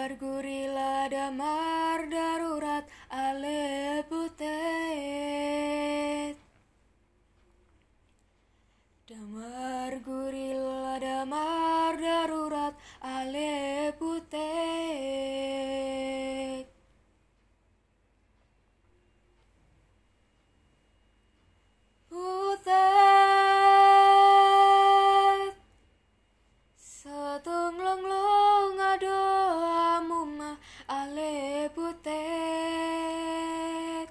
Damar gurila damar darurat ale putet. Damar gurila damar darurat ale putet. Putet Satong long long ado amuma ale putet.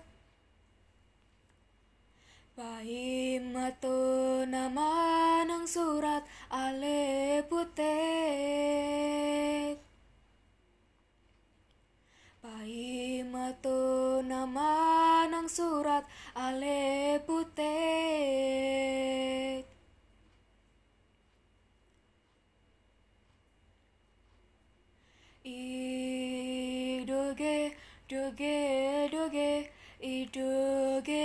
Pahim mato nama nang surat ale putet. Pahim mato nama nang surat ale putet. Idoge, doge, doge, idoge,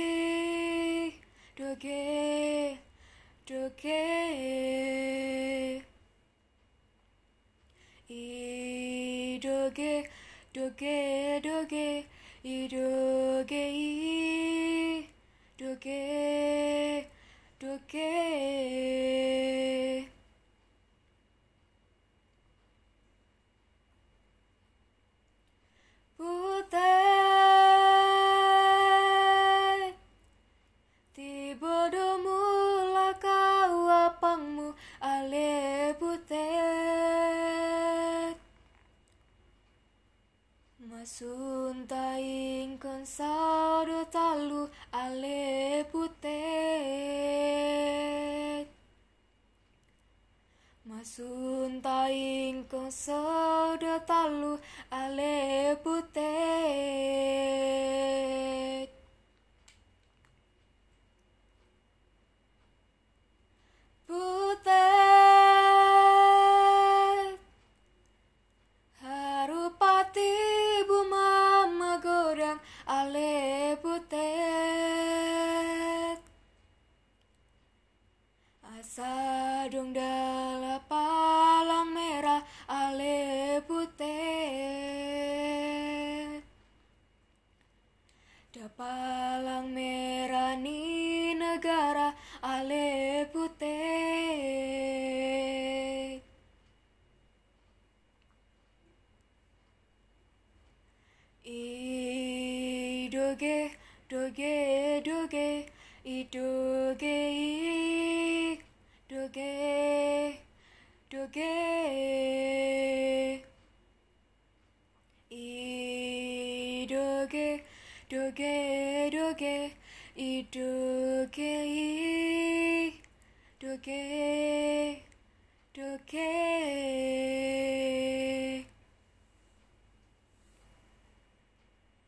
doge, doge, idoge, doge, doge, idoge, doge, doge. Putet tibodo mula kau apangmu ale putet. Masun taing konsau do talu ale putet. Masun taing konsau do talu ale putet. Putet harupati bumama godang ale putet. Asa dong dala palang merah ale putet. Da palang merah ni negara ale putet. Idoge, doge, doge, idoge, doge, doge, idoge, doge, doge, idoge.